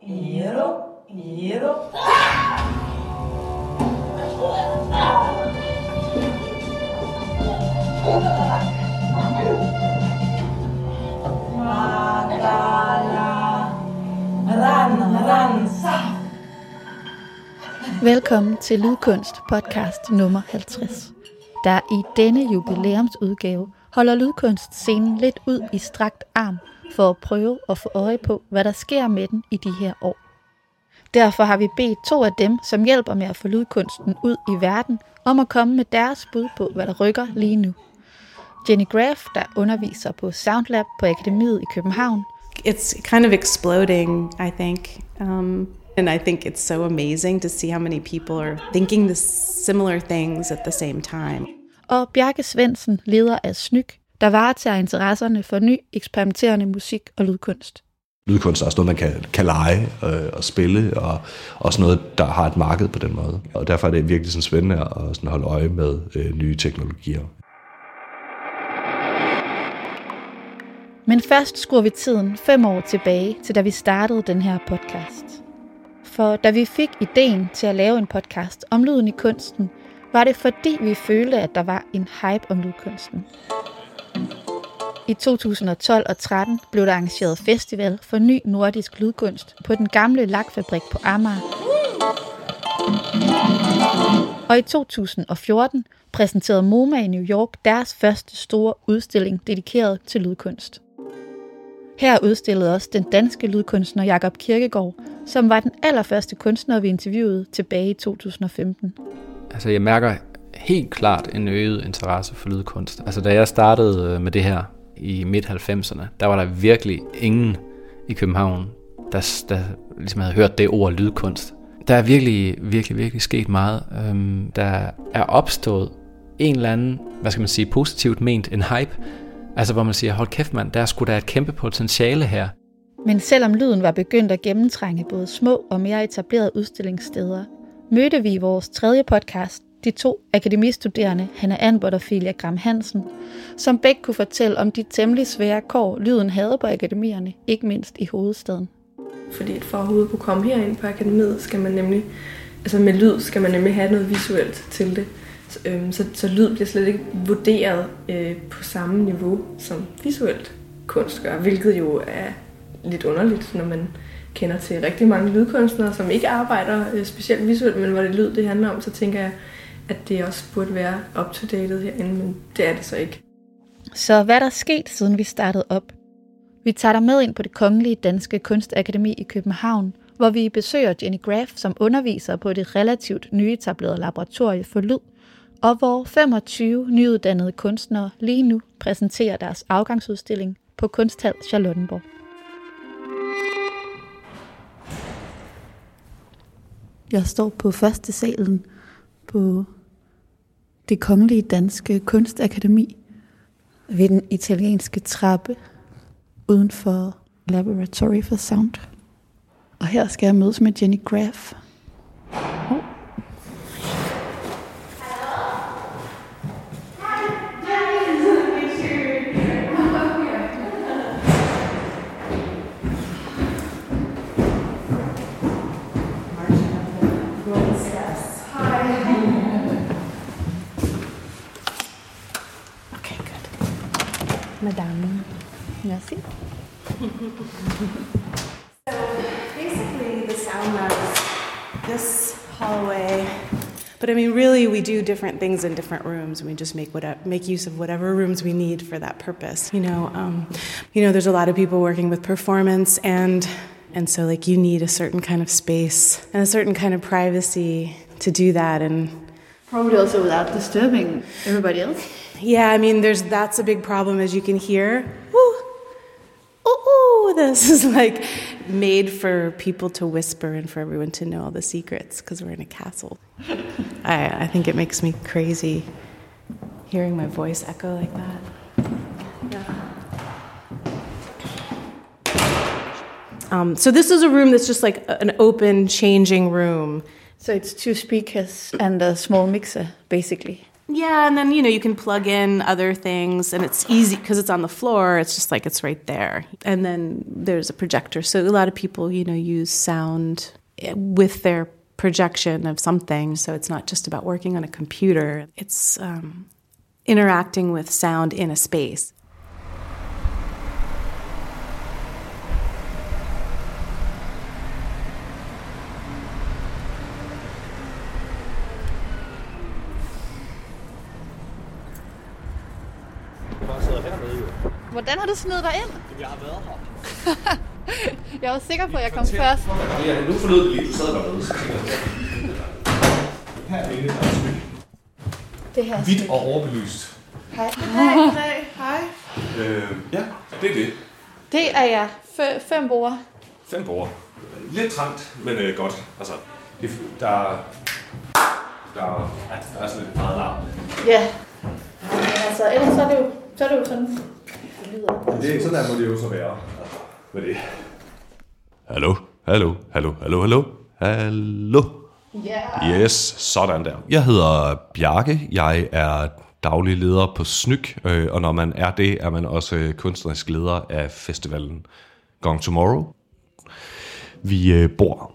Velkommen til Lydkunst podcast nummer 50. Der i denne jubilæumsudgave holder Lydkunstscenen lidt ud i strakt arm for at prøve at få øje på, hvad der sker med den i de her år. Derfor har vi bedt 2 af dem, som hjælper med at få lydkunsten ud i verden, om at komme med deres bud på, hvad der rykker lige nu. Jenny Graff, der underviser på Soundlab på Akademiet i København. It's kind of exploding, I think. And I think it's so amazing to see how many people are thinking the similar things at the same time. Og Bjarke Svendsen, leder af SNYK, der varetager interesserne for ny, eksperimenterende musik og lydkunst. Lydkunst er også noget, man kan lege og spille, og også noget, der har et marked på den måde. Og derfor er det virkelig sådan spændende at sådan holde øje med nye teknologier. Men først skruer vi tiden 5 år tilbage, til da vi startede den her podcast. For da vi fik ideen til at lave en podcast om lyden i kunsten, var det fordi vi følte, at der var en hype om lydkunsten. I 2012 og 13 blev der arrangeret festival for ny nordisk lydkunst på den gamle lakfabrik på Amager. Og i 2014 præsenterede MoMA i New York deres første store udstilling dedikeret til lydkunst. Her udstillede også den danske lydkunstner Jakob Kirkegaard, som var den allerførste kunstner, vi interviewede tilbage i 2015. Altså jeg mærker helt klart en øget interesse for lydkunst. Altså da jeg startede med det her i midt-90'erne, der var der virkelig ingen i København, der ligesom havde hørt det ord lydkunst. Der er virkelig sket meget. Der er opstået en eller anden, positivt ment, en hype. Altså hvor man siger, hold kæft mand, der er sgu da et kæmpe potentiale her. Men selvom lyden var begyndt at gennemtrænge både små og mere etablerede udstillingssteder, mødte vi i vores 3. podcast de 2 akademistuderende, Hanna Anbert og Filia Gram Hansen, som begge kunne fortælle om de temmelig svære kår, lyden havde på akademierne, ikke mindst i hovedstaden. Fordi for at overhovedet kunne komme herind på akademiet, skal man nemlig, altså med lyd skal man nemlig have noget visuelt til det. Så lyd bliver slet ikke vurderet på samme niveau som visuelt kunst gør, hvilket jo er lidt underligt, når man kender til rigtig mange lydkunstnere, som ikke arbejder specielt visuelt, men hvor det lyd det handler om, så tænker jeg, at det også burde være up-to-dated herinde, men det er det så ikke. Så hvad der er sket, siden vi startede op? Vi tager dig med ind på Det Kongelige Danske Kunstakademi i København, hvor vi besøger Jenny Graff, som underviser på det relativt nyetablerede laboratorie for lyd, og hvor 25 nyuddannede kunstnere lige nu præsenterer deres afgangsudstilling på Kunsthal Charlottenborg. Jeg står på første salen på Det Kongelige Danske Kunstakademi ved den italienske trappe uden for Laboratory for Sound. Og her skal jeg mødes med Jenny Graff. Madame. Merci. So basically the sound lab is this hallway. But I mean, really, we do different things in different rooms, and we just make use of whatever rooms we need for that purpose. There's a lot of people working with performance, and so like you need a certain kind of space and a certain kind of privacy to do that, and probably also without disturbing everybody else. Yeah, I mean, that's a big problem, as you can hear. Ooh, this is like made for people to whisper and for everyone to know all the secrets because we're in a castle. I think it makes me crazy hearing my voice echo like that. Yeah. So this is a room that's just like an open, changing room. So it's 2 speakers and a small mixer, basically. Yeah, and then, you can plug in other things, and it's easy because it's on the floor. It's just like it's right there. And then there's a projector. So a lot of people, use sound with their projection of something. So it's not just about working on a computer. It's interacting with sound in a space. Hvordan har du snedet dig ind? Jeg har været her. Jeg var sikker på, at jeg kom først. Ja, nu forlod det lige, du sad dernede. Her er det, der er smyk. Det her Hvidt og overbelyst. Hej. Hej. Ja, det er det. Det er jeg. 5 borde. 5 borde. Lidt trangt, men godt. Altså, der er sådan lidt meget larm. Ja. Men altså, ellers så er det jo sådan. Det er sådan, der må det jo så være. Hvad er det? Hallo? Hallo? Yeah. Yes, sådan der. Jeg hedder Bjarke. Jeg er daglig leder på Snyk, og når man er det, er man også kunstnerisk leder af festivalen Gone Tomorrow. Vi bor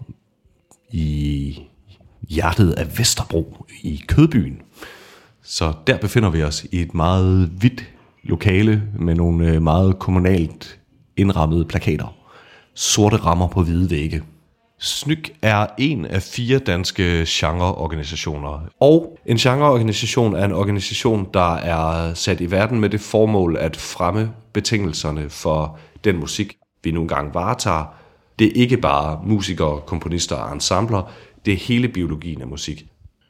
i hjertet af Vesterbro i Kødbyen. Så der befinder vi os i et meget hvidt lokale med nogle meget kommunalt indrammede plakater. Sorte rammer på hvide vægge. Snyk er en af 4 danske genreorganisationer. Og en genreorganisation er en organisation, der er sat i verden med det formål at fremme betingelserne for den musik, vi nogle gange varetager. Det er ikke bare musikere, komponister og ensembler, det er hele biologien af musik.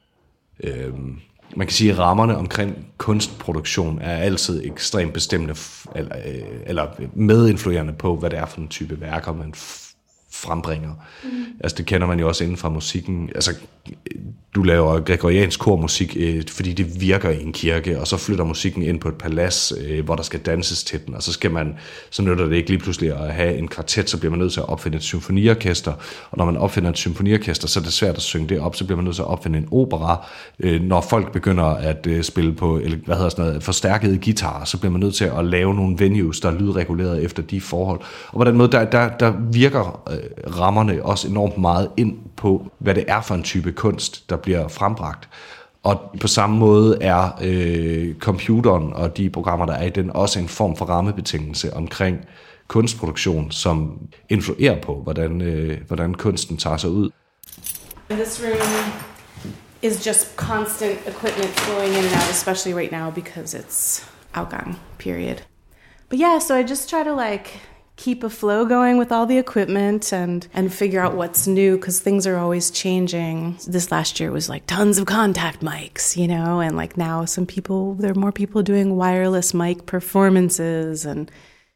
Man kan sige, at rammerne omkring kunstproduktion er altid ekstremt bestemmende eller medinfluerende på, hvad det er for en type værker, man frembringer. Altså det kender man jo også inden fra musikken. Altså du laver gregoriansk kormusik, fordi det virker i en kirke, og så flytter musikken ind på et palads, hvor der skal danses til den, og så nytter det ikke lige pludselig at have en kvartet, så bliver man nødt til at opfinde et symfoniorkester, og når man opfinder et symfoniorkester, så er det svært at synge det op, så bliver man nødt til at opfinde en opera. Når folk begynder at spille på forstærkede guitarer, så bliver man nødt til at lave nogle venues, der er lydreguleret efter de forhold. Og på den måde, der virker rammerne også enormt meget ind på, hvad det er for en type kunst, der bliver frembragt. Og på samme måde er computeren og de programmer, der er i den, også en form for rammebetingelse omkring kunstproduktion, som influerer på, hvordan kunsten tager sig ud. This room is just constant equipment flowing in and out, especially right now because it's afgang period. But yeah, so I just try to keep a flow going with all the equipment and figure out what's new because things are always changing. This last year was tons of contact mics, and now there are more people doing wireless mic performances. And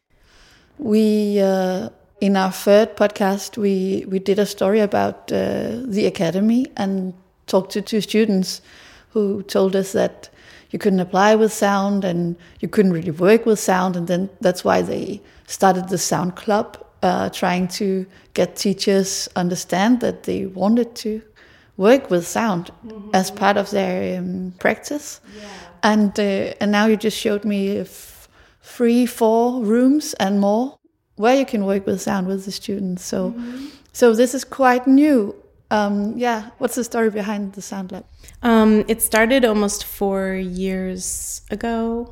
we in our third podcast we did a story about the academy and talked to 2 students who told us that you couldn't apply with sound and you couldn't really work with sound, and then that's why they started the sound club, trying to get teachers understand that they wanted to work with sound as part of their practice. Yeah. And now you just showed me 3-4 rooms and more where you can work with sound with the students. So this is quite new. What's the story behind the Sound Lab? It started almost 4 years ago,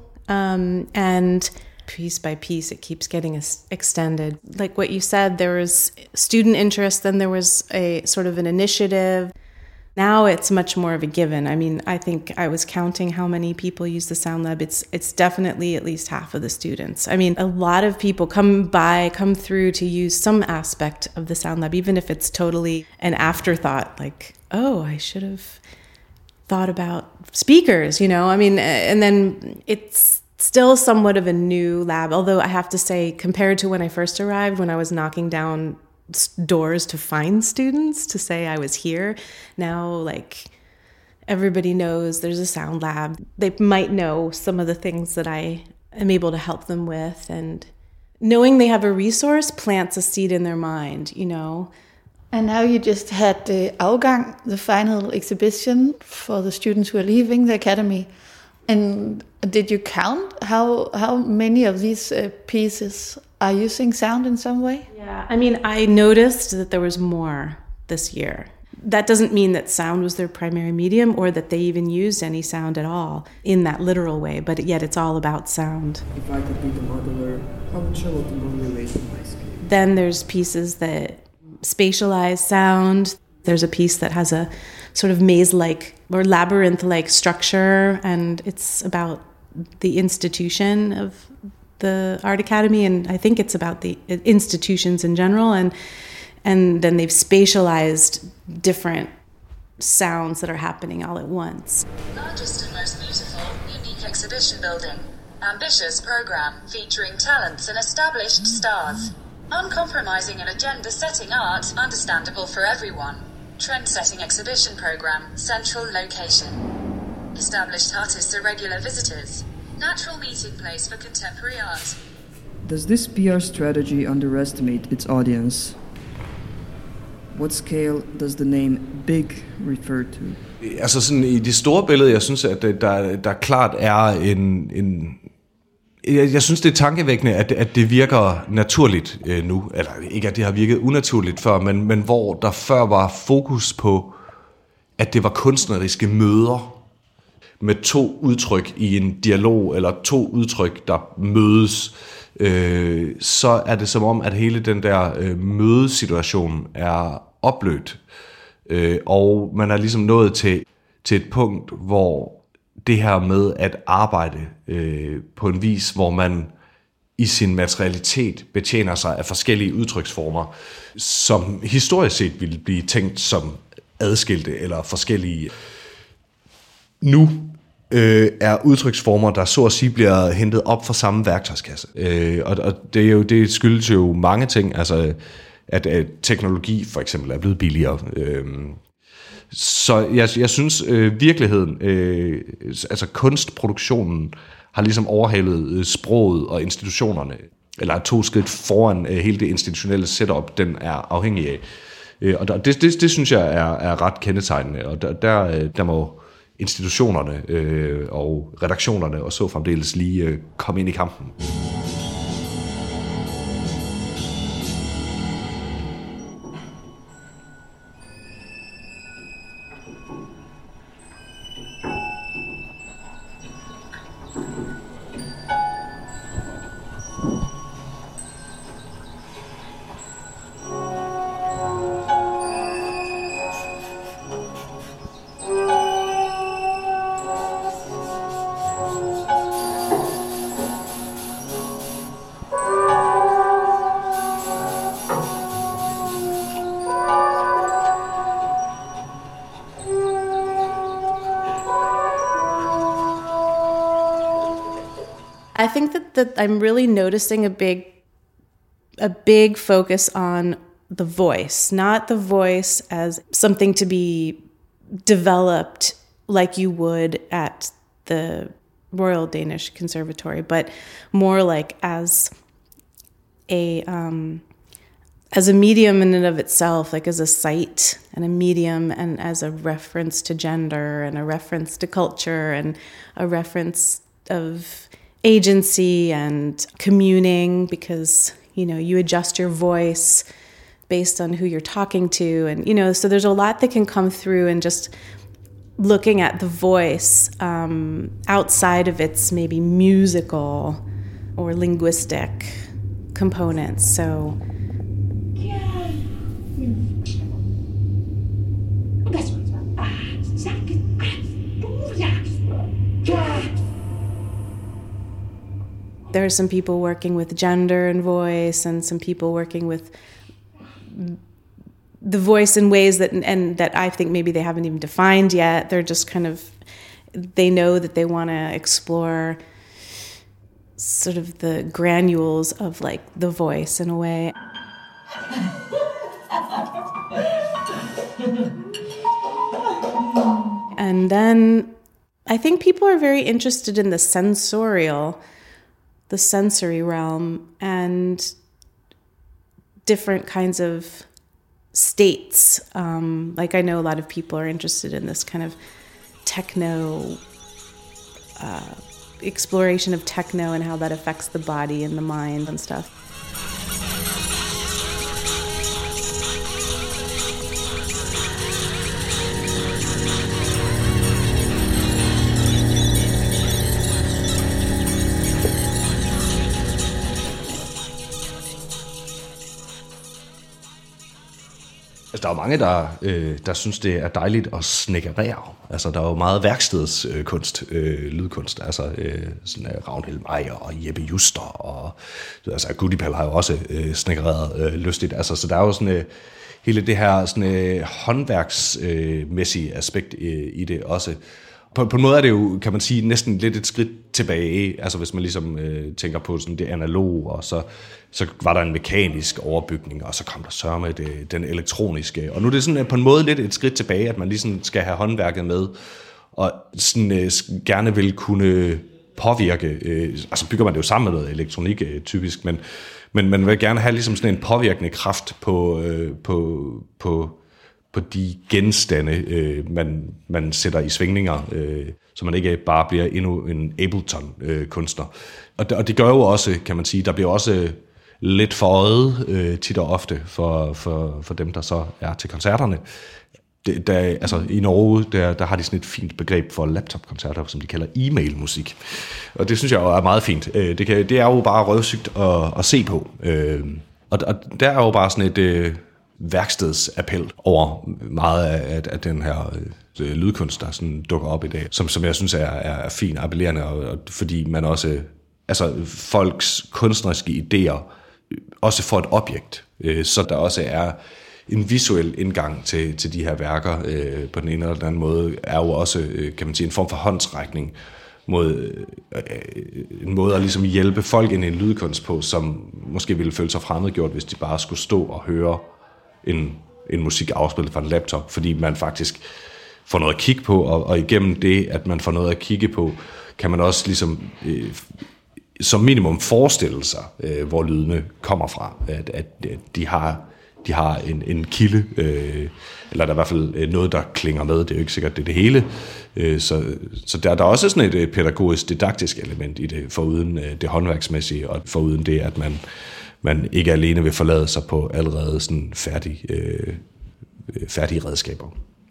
and piece by piece it keeps getting extended. Like what you said, there was student interest, then there was a sort of an initiative. Now it's much more of a given. I mean, I think I was counting how many people use the Sound Lab. It's definitely at least half of the students. I mean, a lot of people come through to use some aspect of the Sound Lab, even if it's totally an afterthought, like, oh, I should have thought about speakers, I mean, and then it's still somewhat of a new lab, although I have to say, compared to when I first arrived, when I was knocking down doors to find students to say I was here, now everybody knows there's a sound lab. They might know some of the things that I am able to help them with, and knowing they have a resource plants a seed in their mind, And now you just had the afgang, the final exhibition for the students who are leaving the academy. And did you count how many of these pieces are using sound in some way? Yeah, I mean, I noticed that there was more this year. That doesn't mean that sound was their primary medium or that they even used any sound at all in that literal way, but yet it's all about sound. If I could be the modeler, how would Charlotte relate to my scale? Then there's pieces that spatialize sound. There's a piece that has a sort of maze-like or labyrinth-like structure, and it's about the institution of the Art Academy, and I think it's about the institutions in general, and then they've spatialized different sounds that are happening all at once. Largest and most beautiful, unique exhibition building. Ambitious program featuring talents and established stars. Uncompromising and agenda-setting art, understandable for everyone. Trend-setting exhibition program, central location. Established artists are regular visitors. Natural meeting place for contemporary art. Does this PR strategy underestimate its audience? What scale does the name Big refer to? Altså sådan i det store billede, jeg synes, at der klart er jeg synes, det er tankevækkende, at det virker naturligt nu. Eller ikke, at det har virket unaturligt før, men hvor der før var fokus på, at det var kunstneriske møder med to udtryk i en dialog, eller to udtryk, der mødes, så er det som om, at hele den der mødesituation er oplødt. Og man er ligesom nået til et punkt, hvor det her med at arbejde på en vis, hvor man i sin materialitet betjener sig af forskellige udtryksformer, som historisk set ville blive tænkt som adskilte eller forskellige. Nu er udtryksformer, der så at sige bliver hentet op fra samme værktøjskasse. Og det skyldes jo mange ting, altså at teknologi for eksempel er blevet billigere. Så jeg synes virkeligheden, altså kunstproduktionen har ligesom overhalet sproget og institutionerne, eller 2 skridt foran hele det institutionelle setup, den er afhængig af. Og det synes jeg er ret kendetegnende, og der må institutionerne og redaktionerne og så fremdeles lige komme ind i kampen. I think that I'm really noticing a big focus on the voice, not the voice as something to be developed like you would at the Royal Danish Conservatory, but more like as a medium in and of itself, like as a site and a medium and as a reference to gender and a reference to culture and a reference of agency and communing, because, you know, you adjust your voice based on who you're talking to. And, you know, so there's a lot that can come through and just looking at the voice outside of its maybe musical or linguistic components. So there are some people working with gender and voice, and some people working with the voice in ways that I think maybe they haven't even defined yet. They're just kind of, they know that they want to explore sort of the granules of like the voice in a way. And then I think people are very interested in the sensory realm and different kinds of states. Like I know a lot of people are interested in this kind of techno exploration of techno and how that affects the body and the mind and stuff. Altså, der er jo mange, der synes, det er dejligt at snekkerere. Altså, der er jo meget værkstedskunst, lydkunst. Altså, sådan Ragnhild Meyer og Jeppe Juster. Og altså, Goodipal har jo også snekkereret lystigt. Altså, så der er jo sådan hele det her sådan, håndværksmæssige aspekt i det også. På en måde er det jo, kan man sige, næsten lidt et skridt tilbage, altså hvis man ligesom tænker på sådan det analoge, og så var der en mekanisk overbygning, og så kom der sørme den elektroniske, og nu er det sådan på en måde lidt et skridt tilbage, at man ligesom skal have håndværket med, og sådan gerne vil kunne påvirke, altså bygger man det jo sammen med noget elektronik typisk, men man vil gerne have ligesom sådan en påvirkende kraft på de genstande, man sætter i svingninger, så man ikke bare bliver endnu en Ableton-kunstner. Og det gør jo også, kan man sige, der bliver også lidt for øjet tit og ofte for dem, der så er til koncerterne. Altså i Norge, der har de sådan et fint begreb for laptop-koncerter, som de kalder e-mail-musik. Og det synes jeg jo er meget fint. Det er jo bare røvsygt at se på. Og der er jo bare sådan et værkstedsappel over meget af den her lydkunst, der sådan dukker op i dag, som jeg synes er fint appellerende, og fordi man også, altså folks kunstneriske idéer også får et objekt, så der også er en visuel indgang til de her værker på den ene eller den anden måde, er jo også, kan man sige, en form for håndsrækning mod en måde at ligesom hjælpe folk ind i en lydkunst på, som måske ville føle sig fremmedgjort, hvis de bare skulle stå og høre en musik afspillet fra en laptop, fordi man faktisk får noget at kigge på, og igennem det, at man får noget at kigge på, kan man også ligesom som minimum forestille sig, hvor lydene kommer fra, at de har en kilde, eller der er i hvert fald noget, der klinger med. Det er jo ikke sikkert, det er det hele. Så der er også sådan et pædagogisk, didaktisk element i det, foruden det håndværksmæssige, og foruden det, at man ikke alene vil forlade sig på allerede sådan færdige redskaber.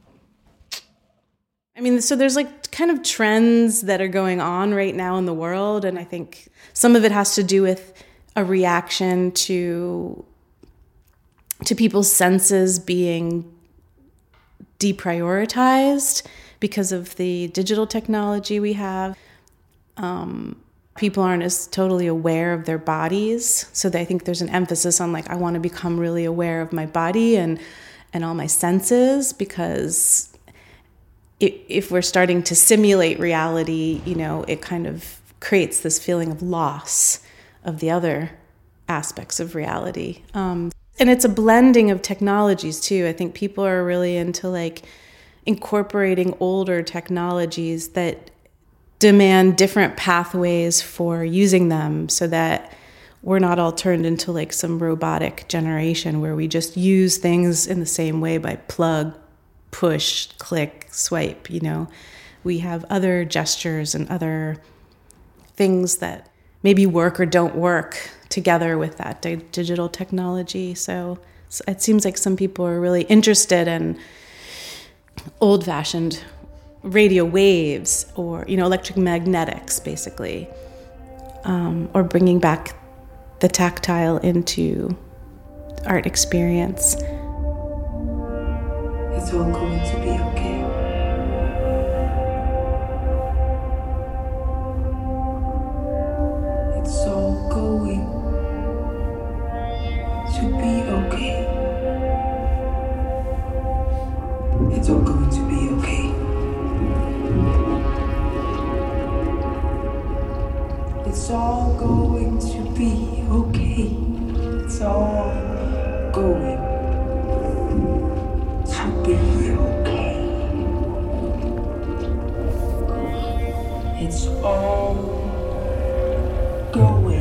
I mean, so there's like kind of trends that are going on right now in the world, and I think some of it has to do with a reaction to people's senses being deprioritized because of the digital technology we have. People aren't as totally aware of their bodies, so I think there's an emphasis on like I want to become really aware of my body and all my senses, because if we're starting to simulate reality, you know, it kind of creates this feeling of loss of the other aspects of reality. And it's a blending of technologies too. I think people are really into like incorporating older technologies that demand different pathways for using them, so that we're not all turned into like some robotic generation where we just use things in the same way by plug, push, click, swipe, you know. We have other gestures and other things that maybe work or don't work together with that digital technology. So it seems like some people are really interested in old-fashioned radio waves, or, you know, electromagnetics basically, or bringing back the tactile into art experience. It's all going to be okay. It's all going to be okay. It's all going to be okay. It's all going to be okay. It's all going to be okay. It's all going.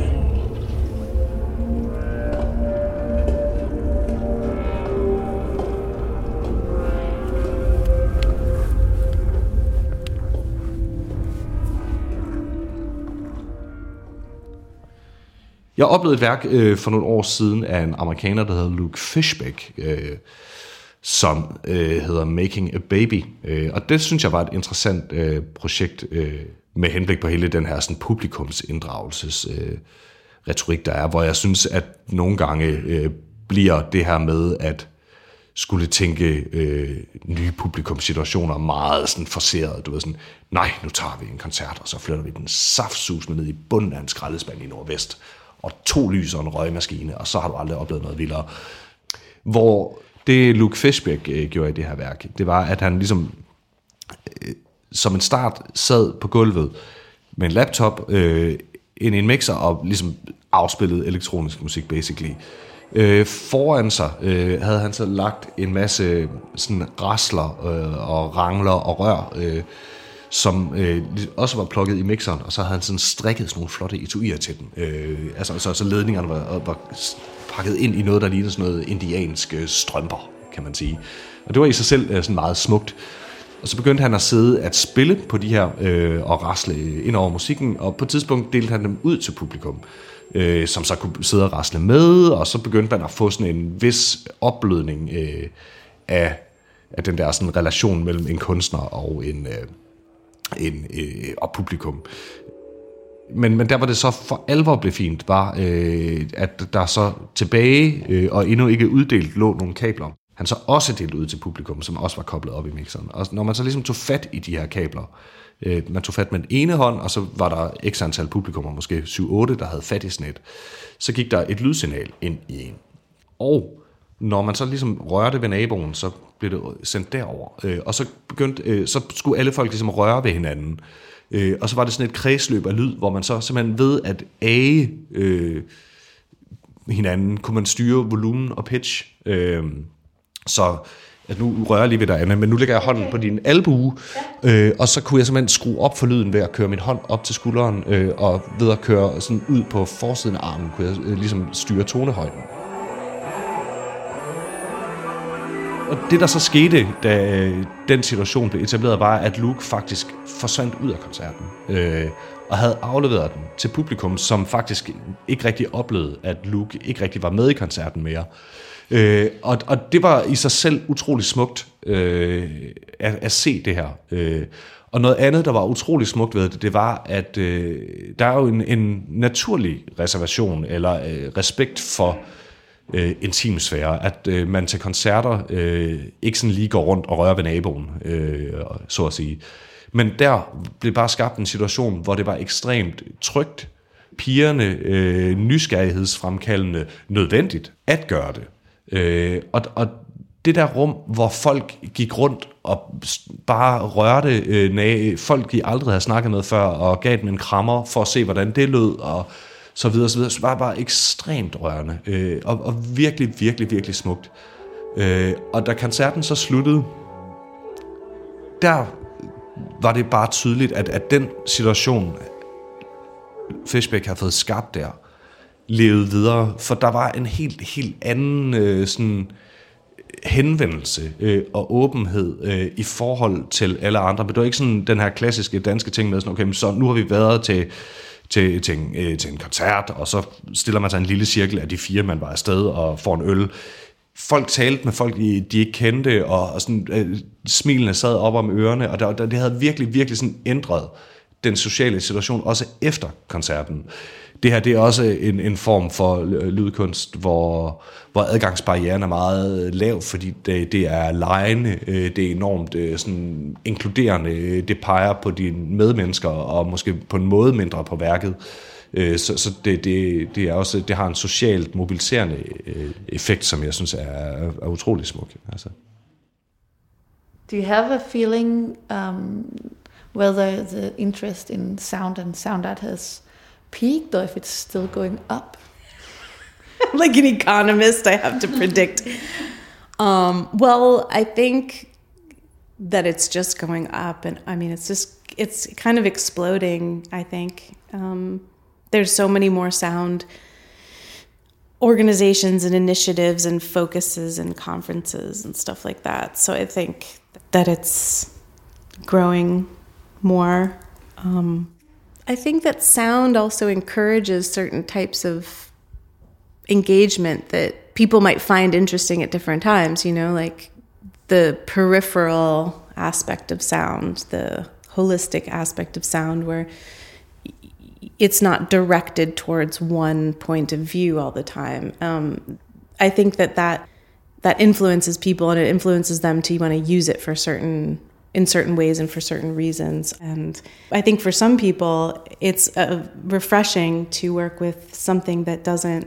Jeg oplevede et værk for nogle år siden af en amerikaner, der hedder Luke Fishbeck, som hedder Making a Baby. Og det synes jeg var et interessant projekt med henblik på hele den her sådan, publikumsinddragelses retorik, der er, hvor jeg synes, at nogle gange bliver det her med at skulle tænke nye publikumssituationer meget sådan forceret. Du ved sådan, nej, nu tager vi en koncert, og så flytter vi den saftsusende ned i bunden af en skraldespand i Nordvest, og 2 lys og en røgmaskine, og så har du aldrig oplevet noget vildere. Hvor det Luke Fishbeck gjorde i det her værk, det var, at han ligesom som en start sad på gulvet med en laptop ind i en mixer og ligesom afspillede elektronisk musik, basically. Foran sig havde han så lagt en masse sådan rasler og rangler og rør, som også var plukket i mixeren, og så havde han sådan strikket sådan nogle flotte etuier til den. Så ledningerne var pakket ind i noget, der lignede sådan noget indiansk strømper, kan man sige. Og det var i sig selv sådan meget smukt. Og så begyndte han at sidde at spille på de her og rasle ind over musikken, og på et tidspunkt delte han dem ud til publikum, som så kunne sidde og rasle med, og så begyndte man at få sådan en vis opblødning af den der sådan relation mellem en kunstner og og publikum. Men der var det så for alvor blev fint, var at der så tilbage og endnu ikke uddelt lå nogle kabler. Han så også delt ud til publikum, som også var koblet op i mixeren. Og når man så ligesom tog fat i de her kabler, man tog fat med den ene hånd, og så var der x antal publikummer, måske 7-8, der havde fat i sådan et, så gik der et lydsignal ind i en. Og når man så ligesom rørte ved naboen, så blev det sendt derover. Og så så skulle alle folk ligesom røre ved hinanden. Og så var det sådan et kredsløb af lyd, hvor man så simpelthen ved at age hinanden, kunne man styre volumen og pitch. Så at nu rører jeg lige ved dig, Anna, men nu lægger jeg hånden på din albue, og så kunne jeg simpelthen skrue op for lyden ved at køre min hånd op til skulderen, og ved at køre sådan ud på forsiden af armen, kunne jeg ligesom styre tonehøjden. Og det, der så skete, da den situation blev etableret, var, at Luke faktisk forsvandt ud af koncerten, og havde afleveret den til publikum, som faktisk ikke rigtig oplevede, at Luke ikke rigtig var med i koncerten mere. Og det var i sig selv utrolig smukt at se det her. Og noget andet, der var utrolig smukt ved det, det var, at der er jo en naturlig reservation eller respekt for intimsfære, at man til koncerter ikke sådan lige går rundt og rører ved naboen, så at sige. Men der blev bare skabt en situation, hvor det var ekstremt trygt, pigerne nysgerrighedsfremkaldende, nødvendigt at gøre det. Og det der rum, hvor folk gik rundt og bare rørte folk, de aldrig havde snakket med før, og gav dem en krammer for at se, hvordan det lød, og så videre, så var det bare ekstremt rørende, og virkelig, virkelig, virkelig smukt. Og da koncerten så sluttede, der var det bare tydeligt, at den situation, Fishbeck havde fået skabt der, levede videre, for der var en helt anden sådan henvendelse og åbenhed i forhold til alle andre. Men det var ikke sådan den her klassiske danske ting med sådan, okay, så nu har vi været til en koncert, og så stiller man sig en lille cirkel af de 4, man var afsted og får en øl. Folk talte med folk, de ikke kendte, og sådan, smilene sad op om ørerne, og det havde virkelig, virkelig sådan ændret den sociale situation, også efter koncerten. Det her, det er også en form for lydkunst, hvor adgangsbarrieren er meget lav, fordi det er legende, det er enormt sådan inkluderende, det peger på dine medmennesker, og måske på en måde mindre på værket. Så det er også, det har en socialt mobiliserende effekt, som jeg synes er utrolig smuk. Altså. Do you have a feeling whether the interest in sound and sound art has peaked, or if it's still going up? Like an economist, I have to predict. Well, I think that it's just going up, and I mean, it's kind of exploding, I think. There's so many more sound organizations and initiatives and focuses and conferences and stuff like that. So I think that it's growing more. I think that sound also encourages certain types of engagement that people might find interesting at different times, you know, like the peripheral aspect of sound, the holistic aspect of sound, where it's not directed towards one point of view all the time. I think that influences people, and it influences them to want to use it in certain ways and for certain reasons. And I think for some people, it's refreshing to work with something that doesn't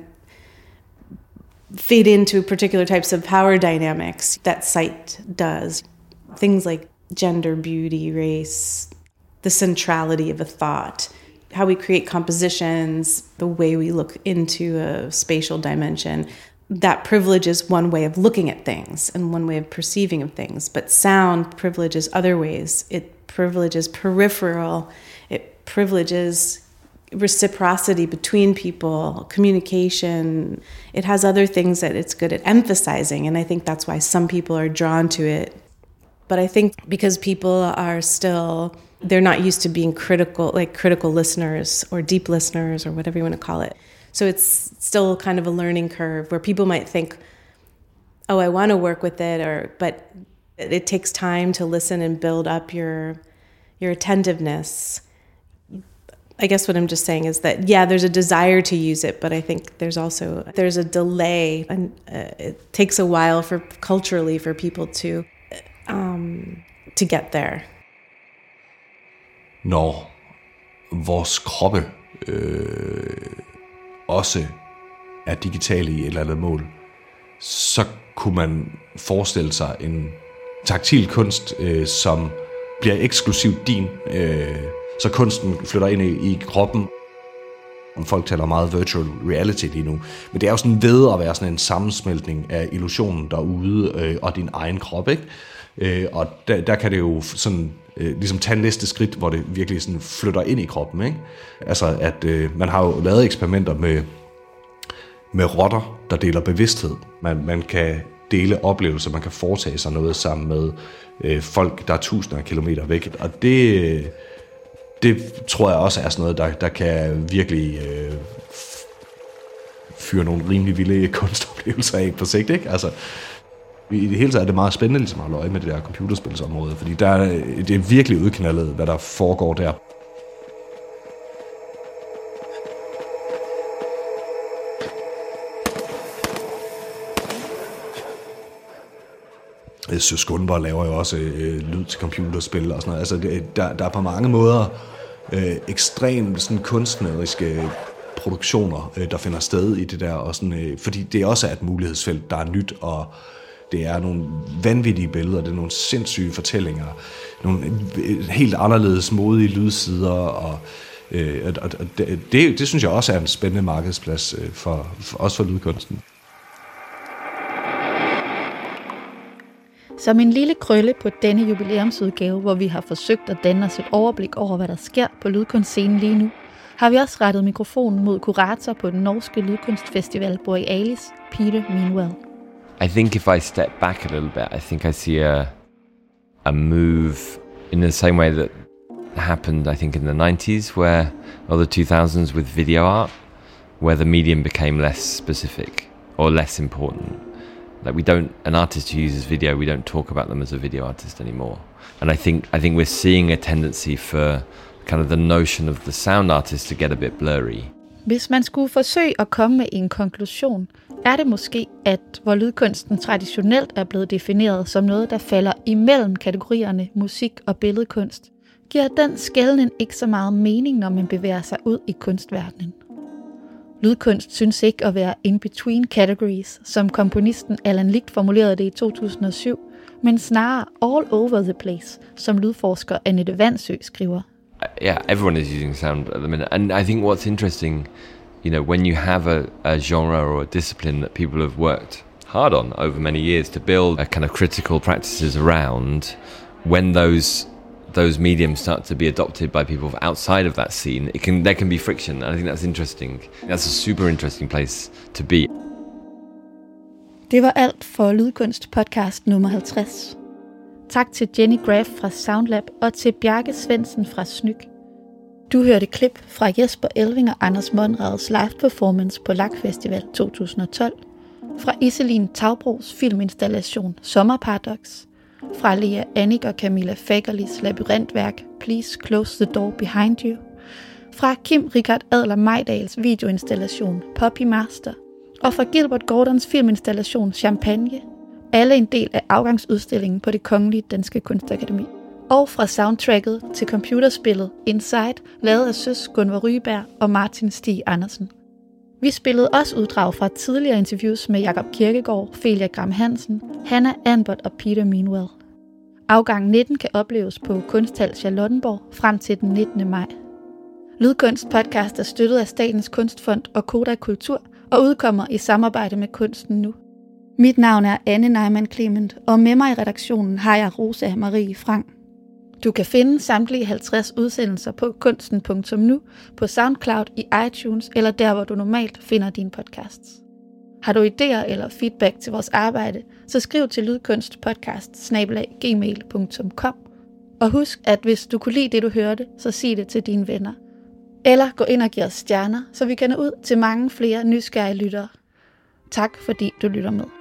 fit into particular types of power dynamics that sight does. Things like gender, beauty, race, the centrality of a thought, how we create compositions, the way we look into a spatial dimension. That privileges one way of looking at things and one way of perceiving of things. But sound privileges other ways. It privileges peripheral. It privileges reciprocity between people, communication. It has other things that it's good at emphasizing. And I think that's why some people are drawn to it. But I think because people are still, they're not used to being critical listeners or deep listeners or whatever you want to call it. So it's still kind of a learning curve where people might think, oh, I want to work with it, but it takes time to listen and build up your attentiveness. I guess what I'm just saying is that, yeah, there's a desire to use it, but I think there's a delay, and it takes a while culturally for people to get there. Når vores kroppe også er digitale i et eller andet mål, så kunne man forestille sig en taktil kunst, som bliver eksklusivt din, så kunsten flytter ind i kroppen. Folk taler meget virtual reality lige nu, men det er jo sådan ved at være sådan en sammensmeltning af illusionen derude og din egen krop, ikke? Og der kan det jo sådan ligesom tage næste skridt, hvor det virkelig sådan flytter ind i kroppen, ikke? Altså at man har jo lavet eksperimenter med rotter, der deler bevidsthed. Man kan dele oplevelser, man kan foretage sig noget sammen med folk, der er tusinder af kilometer væk. Og det tror jeg også er sådan noget, der kan virkelig fyre nogle rimelig vilde kunstoplevelser af på sigt, ikke? Altså, i det hele taget er det meget spændende ligesom at holde øje med det der computerspilsområde, fordi det er virkelig udknaldet, hvad der foregår der. Søs Gunborg laver jo også lyd til computerspil og sådan noget. Altså, der er på mange måder ekstremt sådan kunstneriske produktioner, der finder sted i det der, og sådan, fordi det også er et mulighedsfelt, der er nyt, og det er nogle vanvittige billeder, det er nogle sindssyge fortællinger, nogle helt anderledes modige lydsider, og det synes jeg også er en spændende markedsplads også for lydkunsten. Som en lille krølle på denne jubilæumsudgave, hvor vi har forsøgt at danne os et overblik over, hvad der sker på lydkunstscenen lige nu, har vi også rettet mikrofonen mod kurator på den norske lydkunstfestival Borealis, Peter Meanwell. I think if I step back a little bit, I think I see a move in the same way that happened, I think, in the 90s or the 2000s with video art, where the medium became less specific or less important. Like an artist who uses video, we don't talk about them as a video artist anymore. And I think we're seeing a tendency for kind of the notion of the sound artist to get a bit blurry. Hvis man skulle forsøge at komme med en konklusion, er det måske, at hvor lydkunsten traditionelt er blevet defineret som noget, der falder imellem kategorierne musik og billedkunst, giver den skelnen ikke så meget mening, når man bevæger sig ud i kunstverdenen. Lydkunst synes ikke at være in between categories, som komponisten Allan Licht formulerede det i 2007, men snarere all over the place, som lydforsker Annette Vandsø skriver. Yeah, everyone is using sound at the minute. And I think what's interesting, when you have a genre or a discipline that people have worked hard on over many years to build a kind of critical practices around, when those mediums start to be adopted by people outside of that scene, there can be friction, and I think that's interesting. That's a super interesting place to be. Det var alt for Lydkunst podcast nummer 50. Tak til Jenny Graff fra Soundlab og til Bjarke Svendsen fra Snyk. Du hørte klip fra Jesper Elving og Anders Monrads live performance på LAK Festival 2012, fra Iselin Taubros filminstallation Sommerparadox, fra Lea Annik og Camilla Fagerlis labyrintværk Please Close the Door Behind You, fra Kim Richard Adler Majdals videoinstallation Poppy Master, og fra Gilbert Gordons filminstallation Champagne, alle en del af afgangsudstillingen på Det Kongelige Danske Kunstakademi. Og fra soundtracket til computerspillet Inside, lavet af Søs Gunvar Ryberg og Martin Stig Andersen. Vi spillede også uddrag fra tidligere interviews med Jakob Kirkegaard, Felia Gram Hansen, Hannah Anbot og Peter Meanwell. Afgang 19 kan opleves på Kunsthal Charlottenborg frem til den 19. maj. Lydkunst podcast er støttet af Statens Kunstfond og Koda Kultur og udkommer i samarbejde med Kunsten Nu. Mit navn er Anne Neumann Clement, og med mig i redaktionen har jeg Rosa Marie Frank. Du kan finde samtlige 50 udsendelser på kunsten.nu, på SoundCloud, i iTunes eller der, hvor du normalt finder dine podcasts. Har du idéer eller feedback til vores arbejde, så skriv til lydkunstpodcast@gmail.com. Og husk, at hvis du kunne lide det, du hørte, så sig det til dine venner. Eller gå ind og giv os stjerner, så vi kan nå ud til mange flere nysgerrige lyttere. Tak fordi du lytter med.